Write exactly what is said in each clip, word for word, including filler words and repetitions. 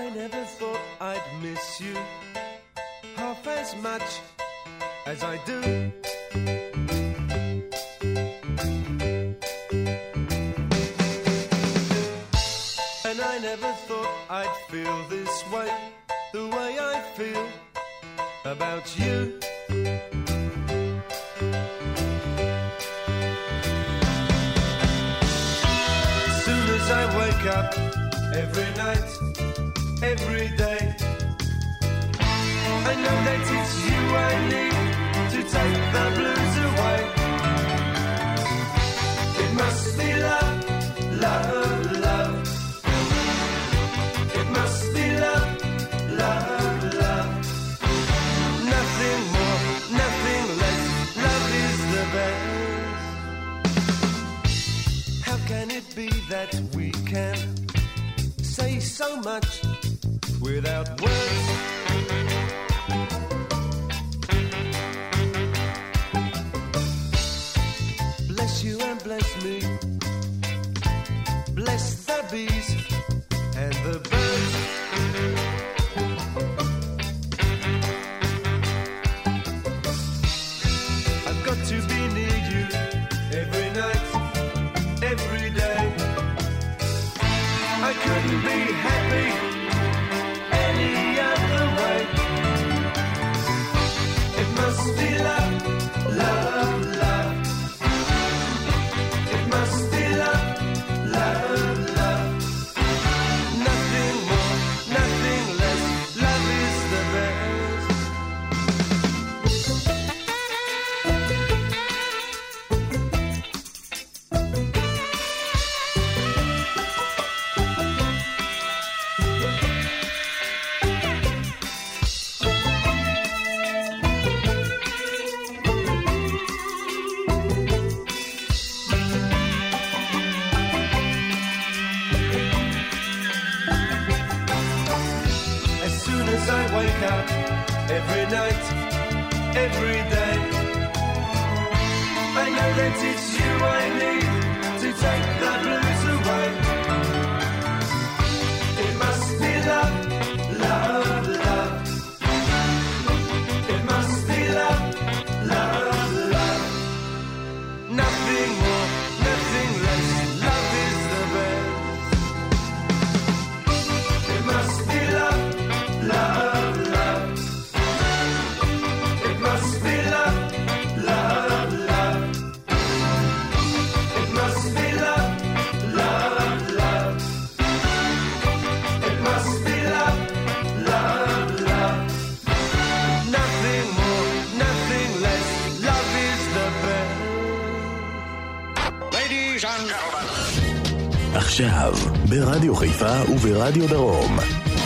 I never thought I'd miss you half as much as I do. And I never thought I'd feel this way, the way I feel about you. As soon as I wake up every night, every day, I know that it's you I need to take the blues away. It must be love, love, love. It must be love, love, love. Nothing more, nothing less. Love is the best. How can it be that we can say so much without words? Bless you and bless me. Bless the bees and the birds. I've got to be near you every night, every day. I couldn't be happy any other way. It must be love, love, love. It must be love, love, love. Nothing more, nothing less. Love is the best. As soon as I wake up every night, every day, I know that it's you I need to take the blues away. It must be love, love, love. It must be love, love, love. Nothing more, nothing less. Love is the best. It must be love, love, love. It must be love, love, love. It must be love, love, love. It must be love, love, love. Nothing more, nothing less. Love is the best. Ladies and gentlemen. עכשיו, ברדיו חיפה וברדיו דרום.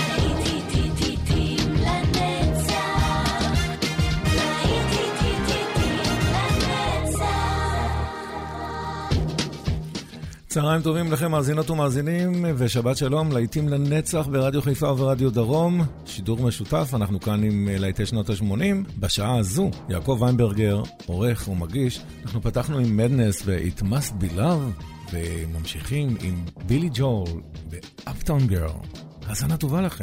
צהריים טובים לכם מאזינות ומאזינים, ושבת שלום, להיטים לנצח ברדיו חיפה וברדיו דרום, שידור משותף. אנחנו כאן עם להיטי שנות ה-שמונים. בשעה הזו, יעקב ויינברגר, עורך ומגיש. אנחנו פתחנו עם מדנס ו-It Must Be Love, וממשיכים עם בילי ג'ול ב-Uptown Girl. האזנה טובה לכם.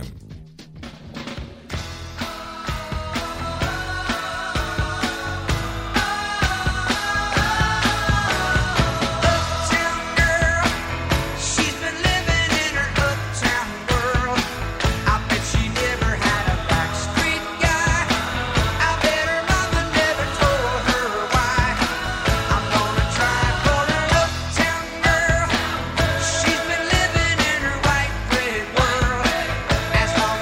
As long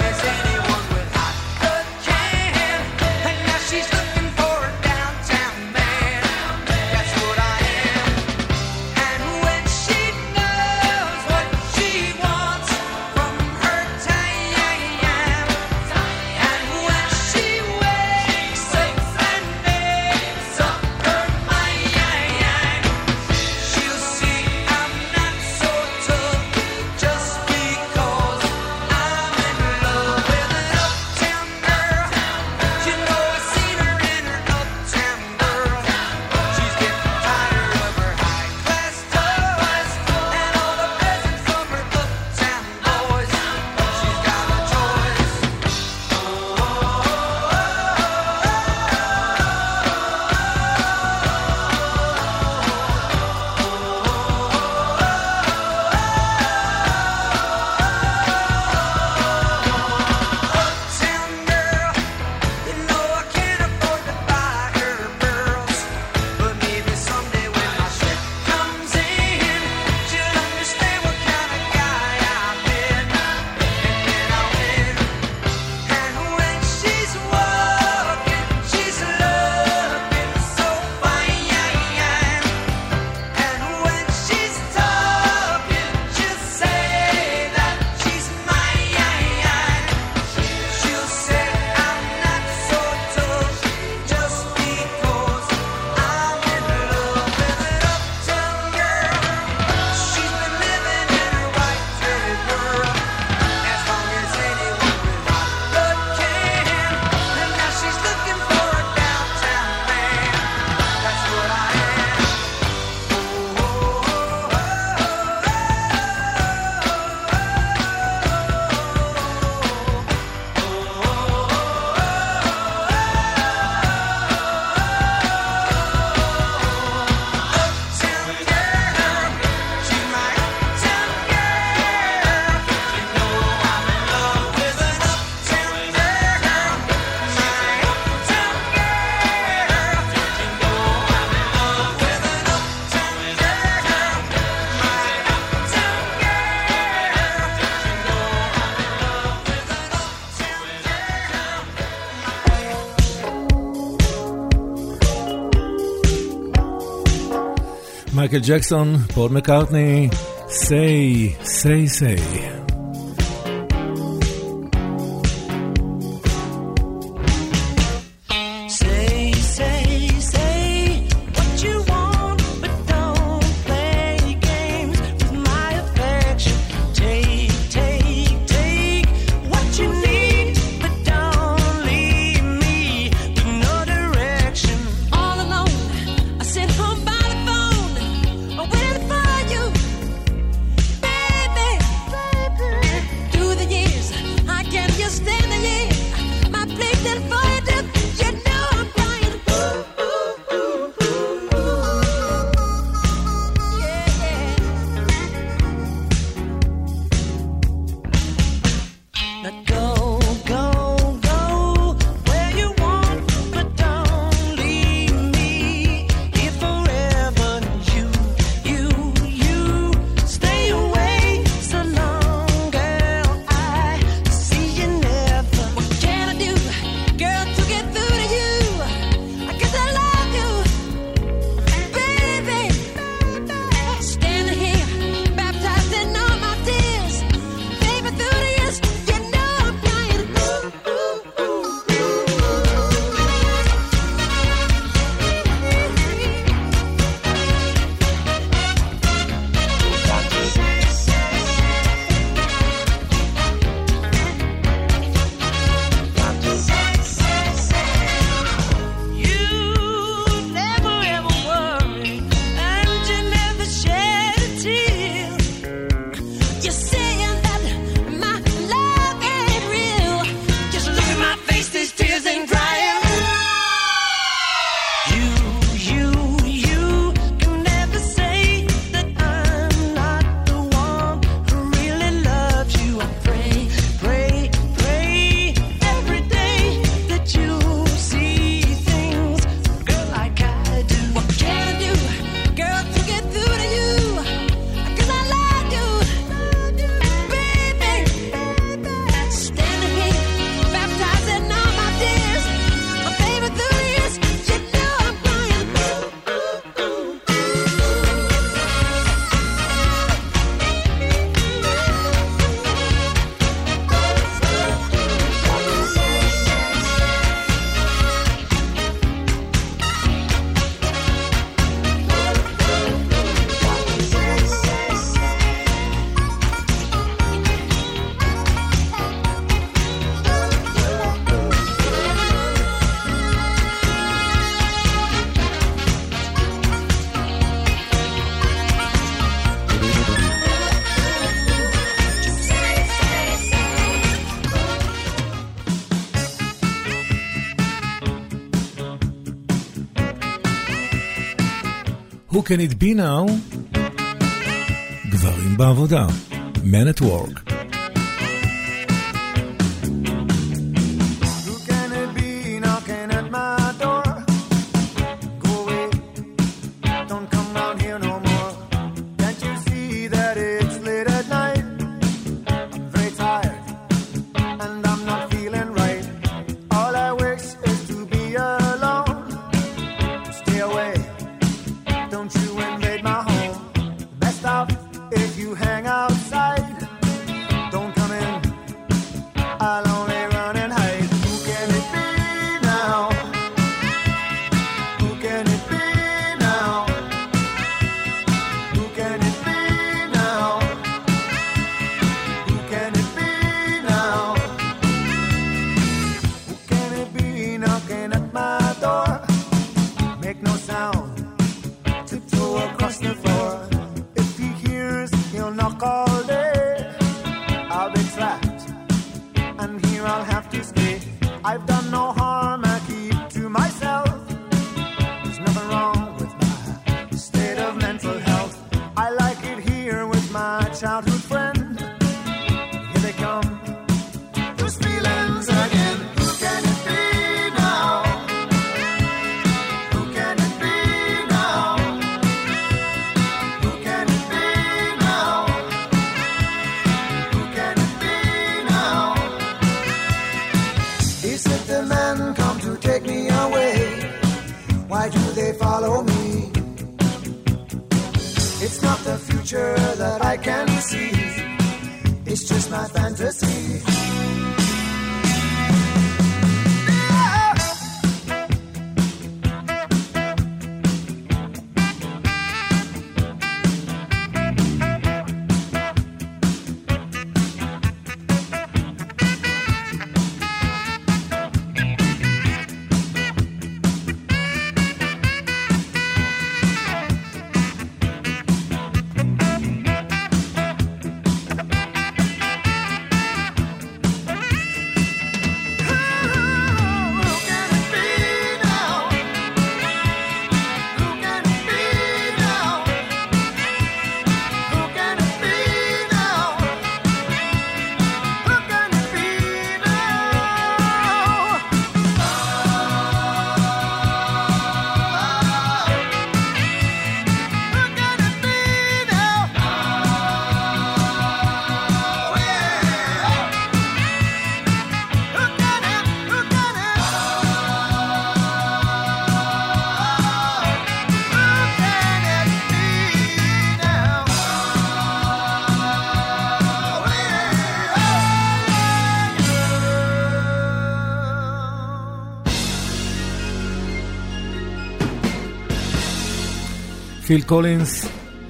מייקל ג'קסון, פול מקארטני, say, say, say. Who can it be now? גברים בעבודה. Men at work. If you hang outside a future that I can see. It's just my fantasy. פיל קולינס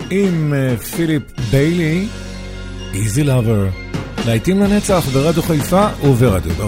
עם פיליפ ביילי, Easy Lover, להיטים לנצח ברדיו חיפה וברדיו דרום.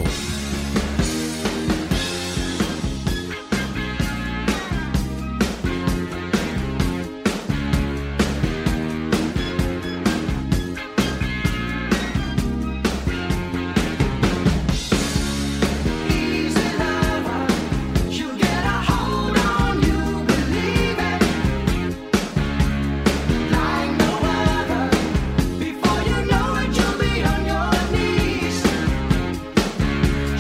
Before you know it, you'll be on your knees.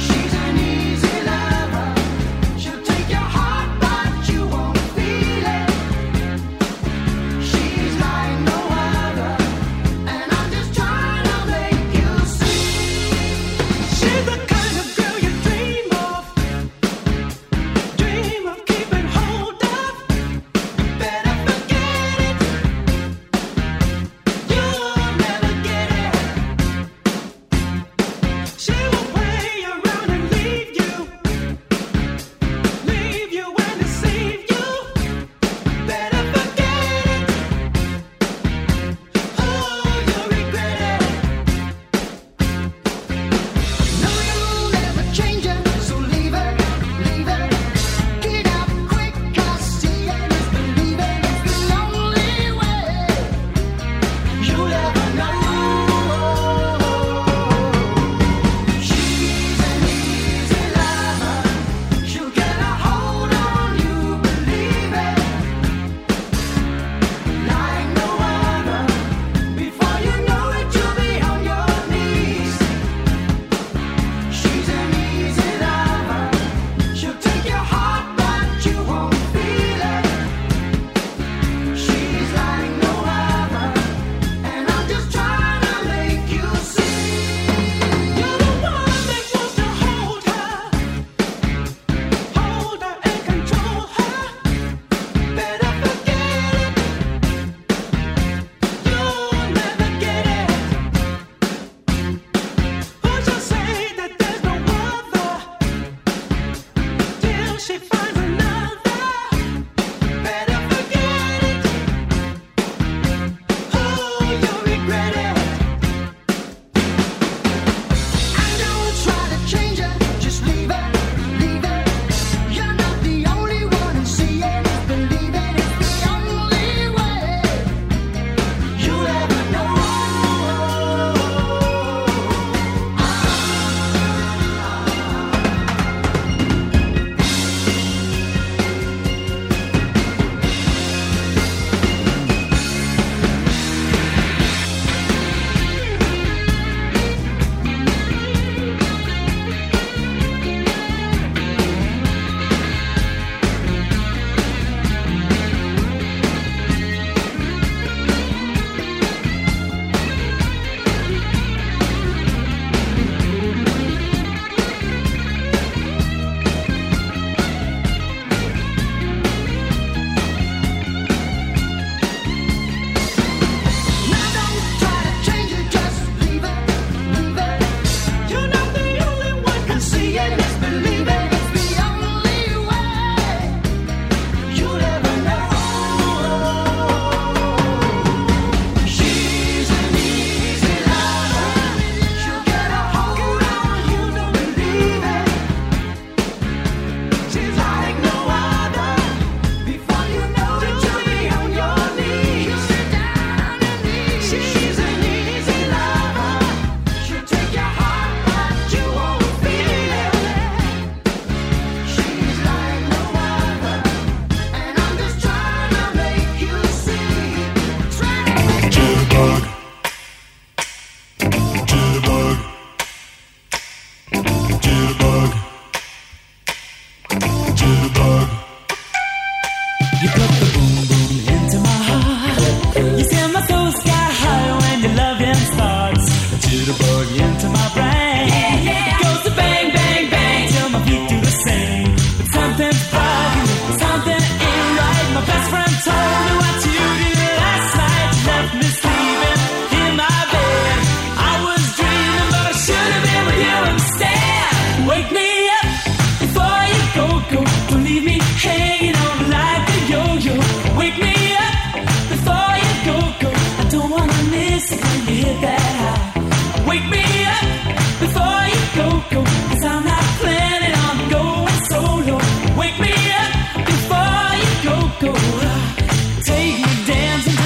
something's bugging me, something ain't right. My best friend told me what you did last night. You left me sleeping in my bed. I was dreaming, but I should have been with you instead. Wake me up before you go, go. Don't leave me hanging on like a yo-yo. Wake me up before you go, go. I don't wanna miss it when you hit that high. Wake me up before you go, go. Cause I'm not planning on going solo. Wake me up before you go, go. Take me dancing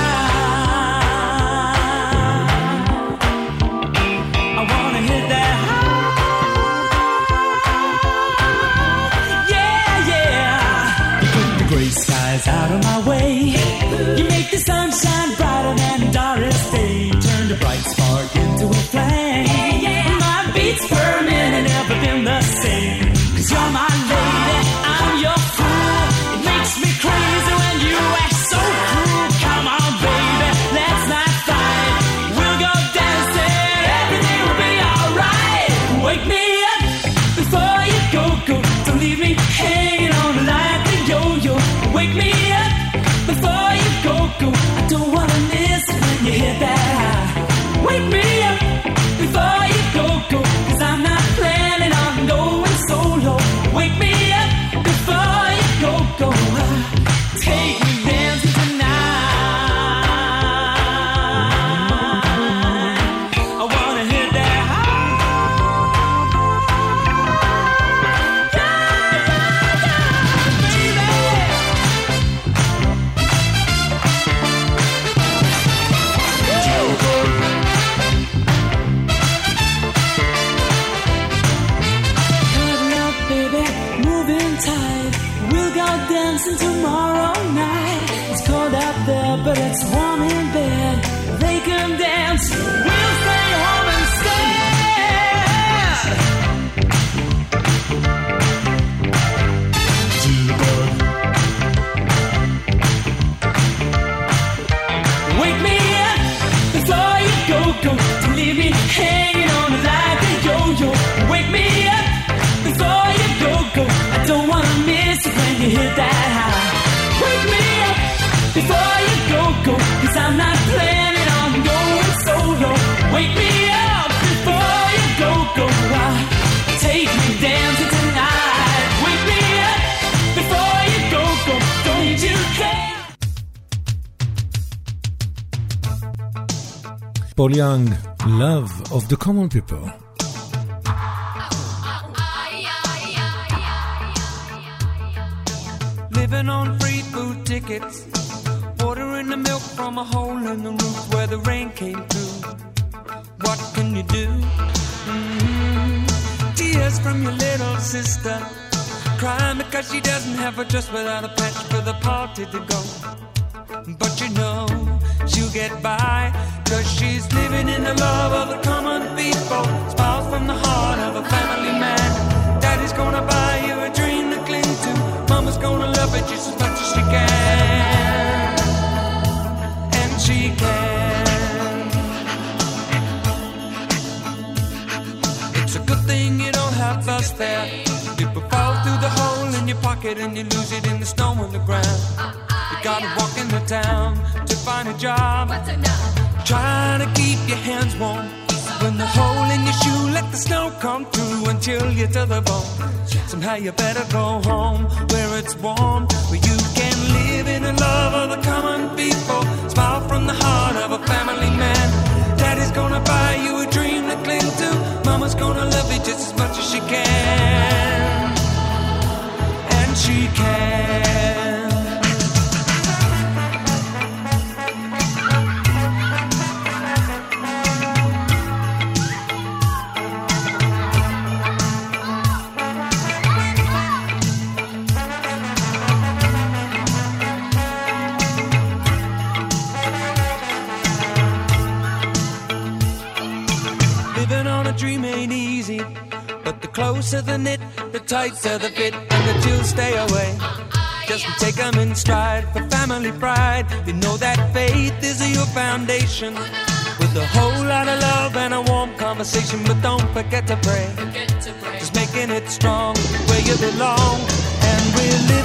tonight. I wanna hit that high. Yeah, yeah. You put the gray skies out of my way. You make the sunshine brighter than Doris Day. Turn the bright spark into a flame. My beats per minute never been the same. Cause you're my lady, I'm your fool. It makes me crazy when you act so cruel. Come on baby, let's not fight. We'll go dancing, everything will be alright. Wake me up before you go, go. Don't leave me hanging on like a yo-yo. Wake me up before you go, go. I don't wanna miss it when you hit that high. Wake me up before you go, go. Cause I'm not planning on going solo. Wake me up before you go, go. Take me dancing tonight. I wanna hit that high. Yeah, yeah, yeah, baby. Moving tight, we'll go dancing tomorrow night. It's cold out there, but it's warm in bed. They can dance, we'll stay home instead. Wake me up before you go, go. Don't leave me hanging on like a yo-yo. Wake me up before you go, go. I don't wanna miss it when you hit that high. Wake me up before you go, go. Cause I'm not planning on going solo. Wake me up before you go, go. Take me dancing tonight. Wake me up before you go, go. Don't you care? Paul Young, Love of the Common People. Living on free food tickets, ordering the milk from a hole in the roof where the rain came through. What can you do? Mm-hmm. Tears from your little sister, crying because she doesn't have a dress without a patch for the party to go. But you know she'll get by, cause she's living in the love of the common people. Smiles from the heart of a family man. Daddy's gonna buy you a dream to cling to. Mama's gonna love it just as much as she can. And she can. It's a good thing you don't have us there. People fall through the hole in your pocket and you lose it in the snow on the ground. You gotta walk into town to find a job. Trying to keep your hands warm. When the hole in your shoe, let the snow come through and chill you to the bone. Somehow you better go home where it's warm, where you can live in the love of the common people. Smile from the heart of a family man. Daddy's gonna buy you a dream to cling to. Mama's gonna love you just as much as she can. And she can. Dream ain't easy, but the closer the knit, the tighter the fit, and the chills stay away. Just take them in stride for family pride. You know that faith is your foundation, with a whole lot of love and a warm conversation. But don't forget to pray, just making it strong where you belong.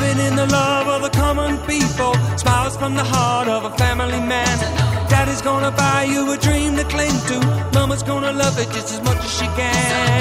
living in the love of the common people, smiles from the heart of a family man. Daddy's gonna buy you a dream to cling to, Mama's gonna love it just as much as she can.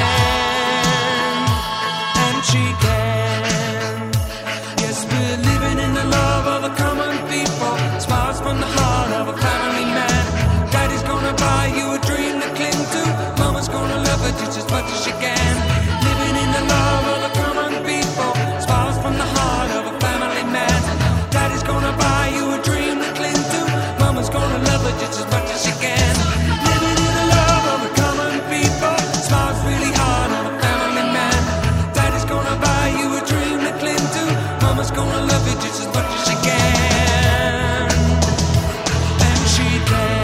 And she can. Yes, we're living in the love of the common people, smiles from the heart of a family man. Daddy's gonna buy you a dream to cling to, Mama's gonna love it just as much as she can. Living in the love of the common people, smiles from the heart of a family man. Daddy's gonna buy you a dream to cling to, Mama's gonna love it just as much as she can. Living in the love of the common people, smiles really hard on a family man. Daddy's gonna buy you a dream to cling to, Mama's gonna love it just as much as she can. And she can.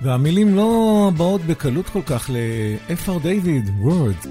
והמילים לא באות בקלות כל כך ל-F R David, Word.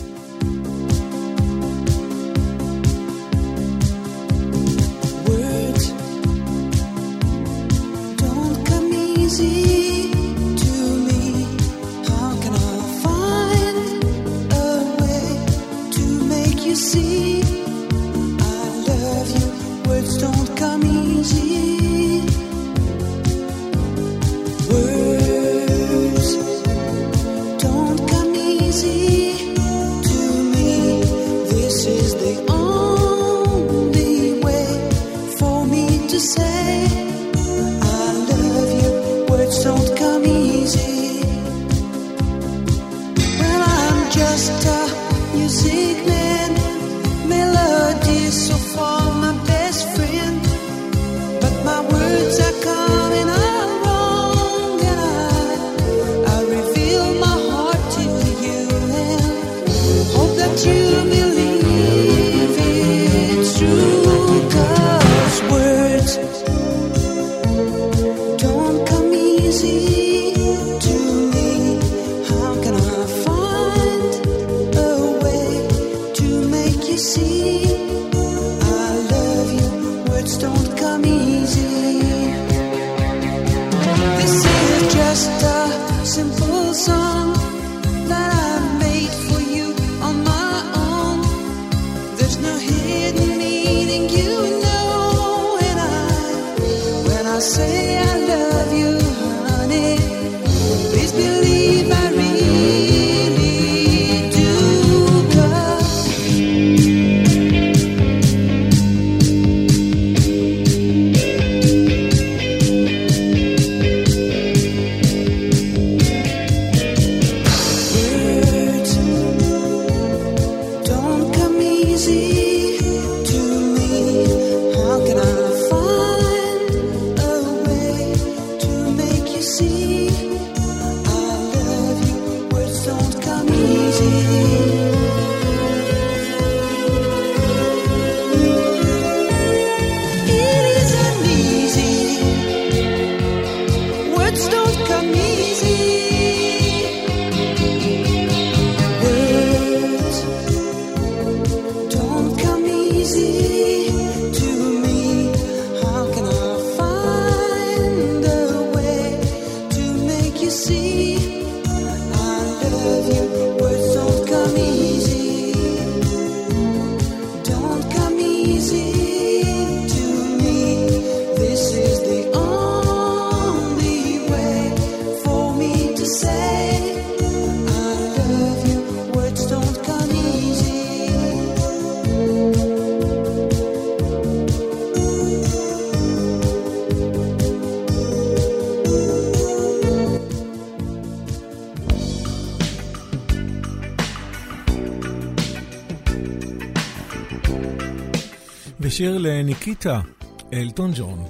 ושיר לניקיטה, אלטון ג'ון.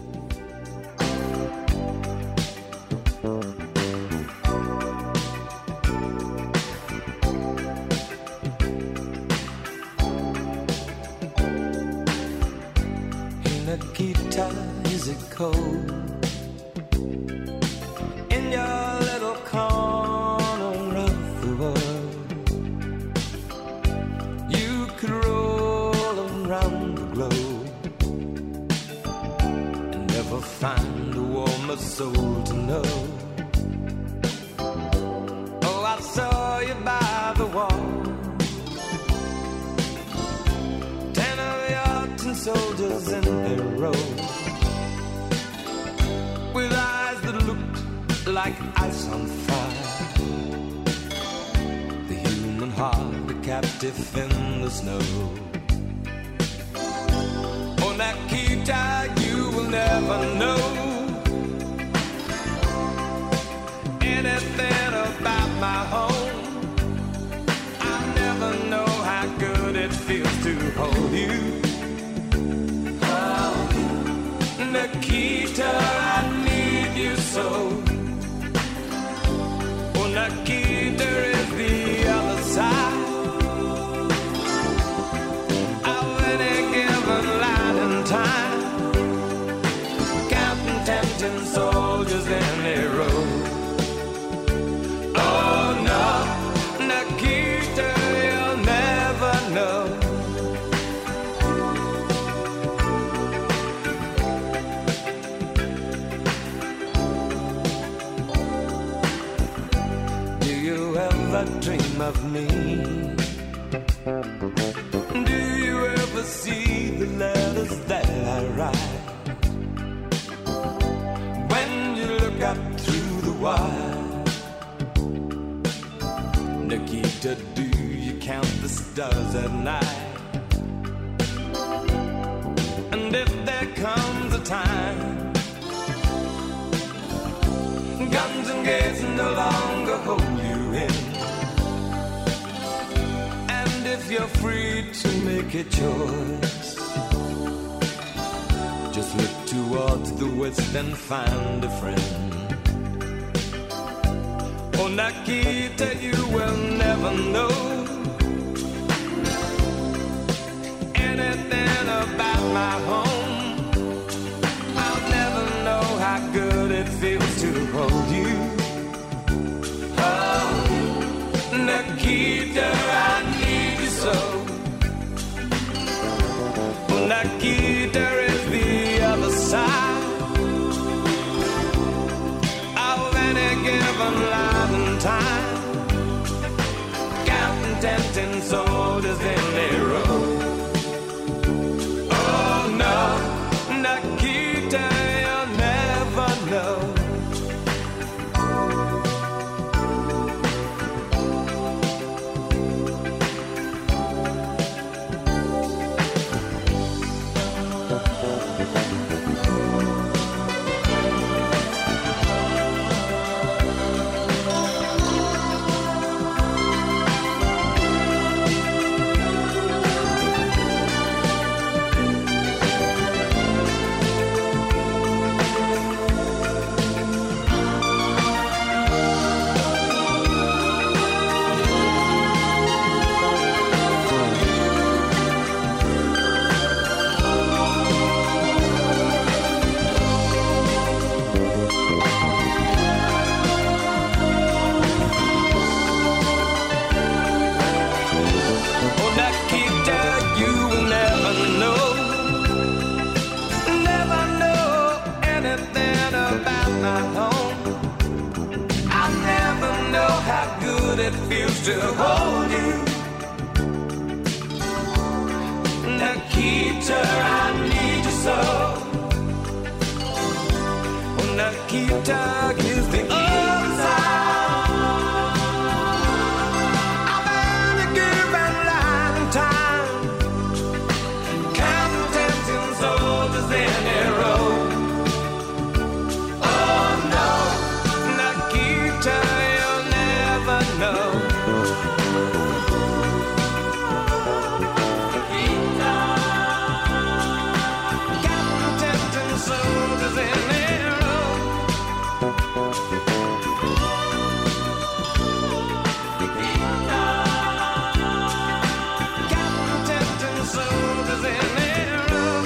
Nikita, is it cold in your little corner of the world? You could roll around the globe and never find a warmer soul to know. Oh, I saw you by the wall, ten of your tin soldiers in a row, with eyes that looked like ice on fire. The human heart, a captive in the snow. Oh, Nikita, you will never know anything about my home. I never know how good it feels to hold you. Nikita, I need you so. Oh, Nikita is the other side of any given line in time, counting tempting soldiers in a row. of me. Do you ever see the letters that I write? When you look up through the wire, Nikita, do you count the stars at night? And if there comes a time guns and gates no longer hold you in, and if you're free to make a choice, just look towards the west and find a friend. Oh, Nikita, you will never know anything about my home. I'll never know how good it feels to hold you. Oh, Nikita, I need you so. Oh, Nikita is the other side of any given line and time, counting ten soldiers in a row. Oh no, Nikita, you'll never know. It feels to hold you, Nikita, I need you so. Nikita is the other side of any given line and time, counting ten soldiers in a row. Oh no, Nikita, no. Captain soldiers in their row. Captain soldiers in their row.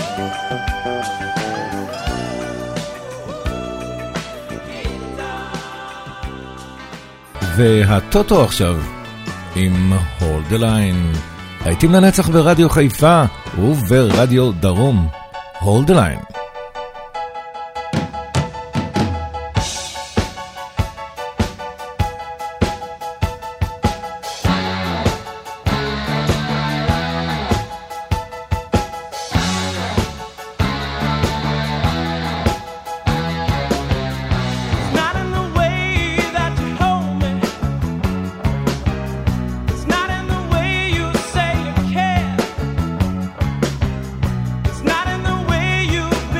והטוטו עכשיו עם Hold the Line, להיטים לנצח ברדיו חיפה וברדיו דרום. Hold the Line. It's not in the way you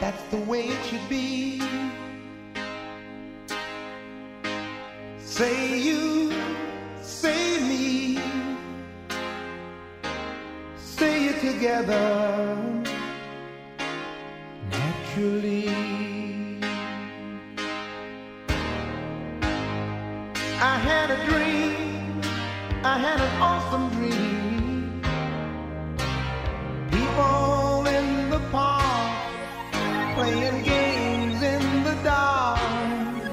That's the way it should be. Say you, say me, say it together naturally. I had a dream, I had an awesome dream. People in the park playing games in the dark,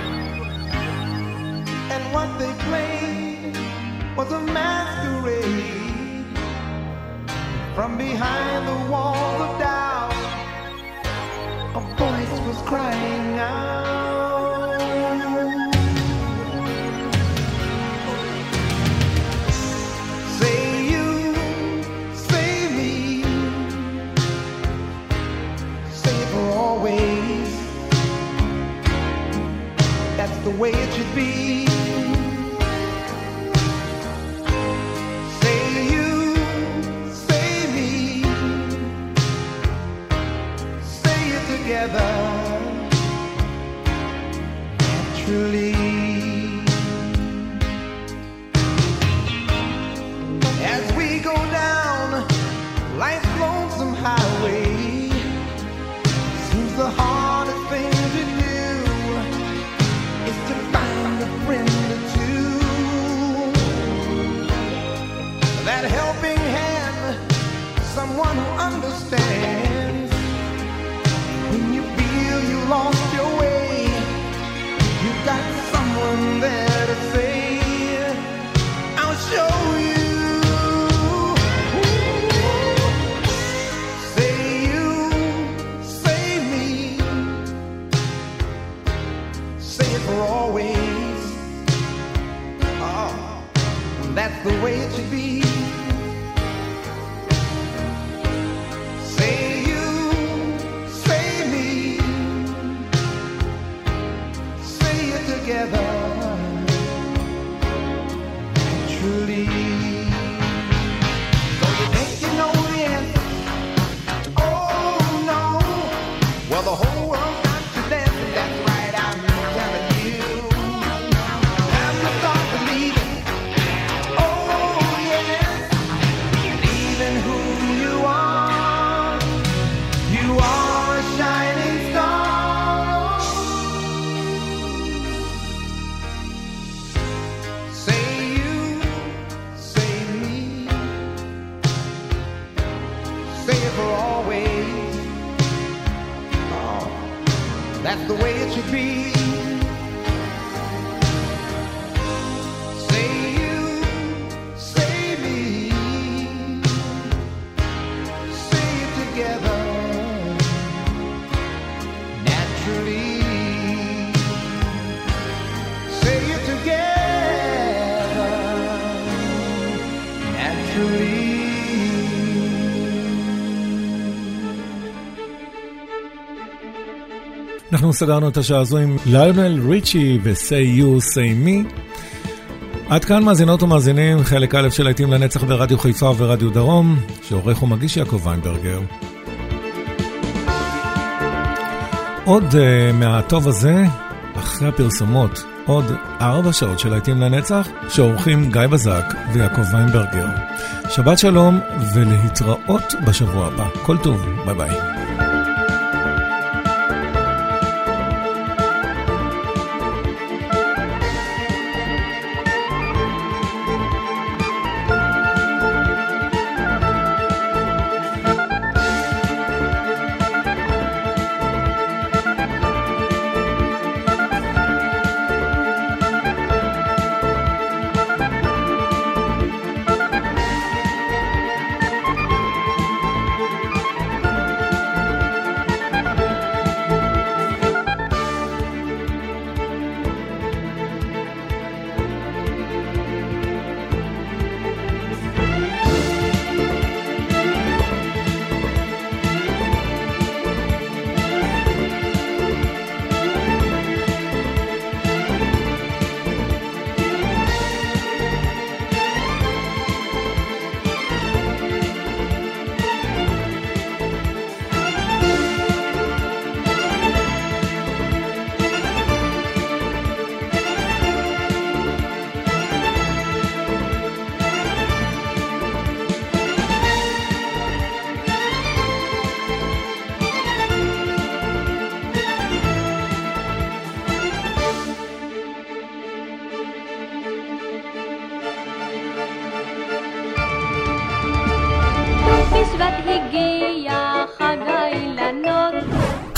and what they played was a masquerade. From behind the walls of doubt, a voice was crying out. Say you, say me, say it for always. That's the way it should be. Say you, say me, say it together naturally. As we go down life's lonesome highway, seems the hardest thing to do is to find a friend or two. That helping hand, someone who understands. When you feel you lost your way, you've got someone there to say, I'll show you. Say you, say me, say it for always. Oh, that's the way it should be. Say you, say me, say it together naturally. So you think you know the answer? Oh no. Well, the whole world got you dancing. That's right, I'm telling you. Have you start believing? Oh yes, believing who you are. You are a shining star. Say you, say me, say it for always. Oh, that's the way it should be. Say you, say me, say it together naturally. Say it together naturally. אנחנו סגרנו את השעה הזו עם ליונל ריצ'י ו-Say You, Say Me. עד כאן מאזינות ומאזינים, חלק א' של להיטים לנצח ברדיו חיפה ורדיו דרום, שעורך ומגיש יעקב ויינברגר. עוד uh, מהטוב הזה, אחרי הפרסומות, עוד ארבע שעות של להיטים לנצח, שעורכים גיא בזק ויעקב ויינברגר. שבת שלום ולהתראות בשבוע הבא. כל טוב, ביי ביי.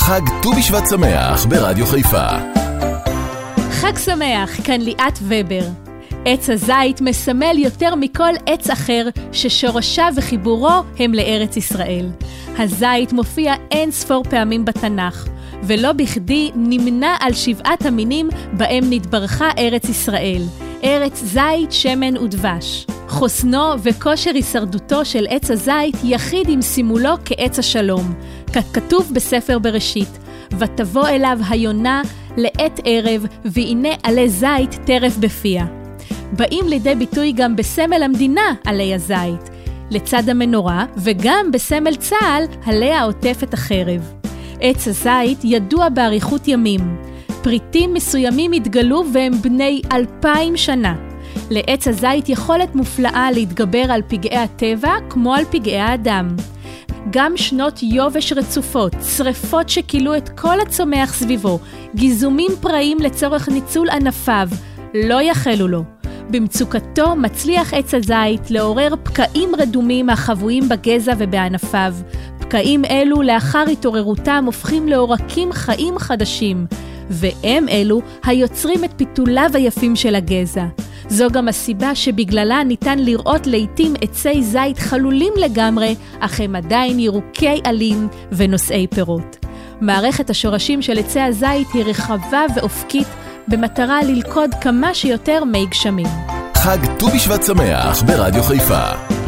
חג ט"ו בשבט שמח ברדיו חיפה. חג שמח, כאן ליאת ובר. עץ הזית מסמל יותר מכל עץ אחר ששורשיו וחיבורו הם לארץ ישראל. הזית מופיע אין ספור פעמים בתנ"ך, ולא בכדי נמנה על שבעת המינים בהם נתברכה ארץ ישראל. ארץ זית, שמן ודבש. חוסנו וכושר הישרדותו של עץ הזית יחיד עם סימולו כעץ השלום. ככתוב בספר בראשית, ותבוא אליו היונה לעת ערב, והנה עלי זית טרף בפיה. באים לידי ביטוי גם בסמל המדינה עלי הזית, לצד המנורה, וגם בסמל צה"ל עליה עוטפת החרב. עץ הזית ידוע באריכות ימים. פריטים מסוימים התגלו והם בני אלפיים שנה. לעץ הזית יכולת מופלאה להתגבר על פגעי הטבע כמו על פגעי האדם. גם שנות יובש רצופות, שריפות שכילו את כל הצומח סביבו, גיזומים פראיים לצורך ניצול ענפיו, לא יחלו לו. במצוקתו מצליח עץ הזית לעורר פקעים רדומים החבויים בגזע ובענפיו. פקעים אלו לאחר התעוררותם הופכים לעורקים חיים חדשים, והם אלו היוצרים את פיתוליו היפים של הגזע. זו גם הסיבה שבגללה ניתן לראות לעתים עצי זית חלולים לגמרי, אך הם עדיין ירוקי עלים ונושאי פירות. מערכת השורשים של עצי הזית היא רחבה ואופקית, במטרה ללכוד כמה שיותר מי גשמים. חג ט"ו בשבט שמח ברדיו חיפה.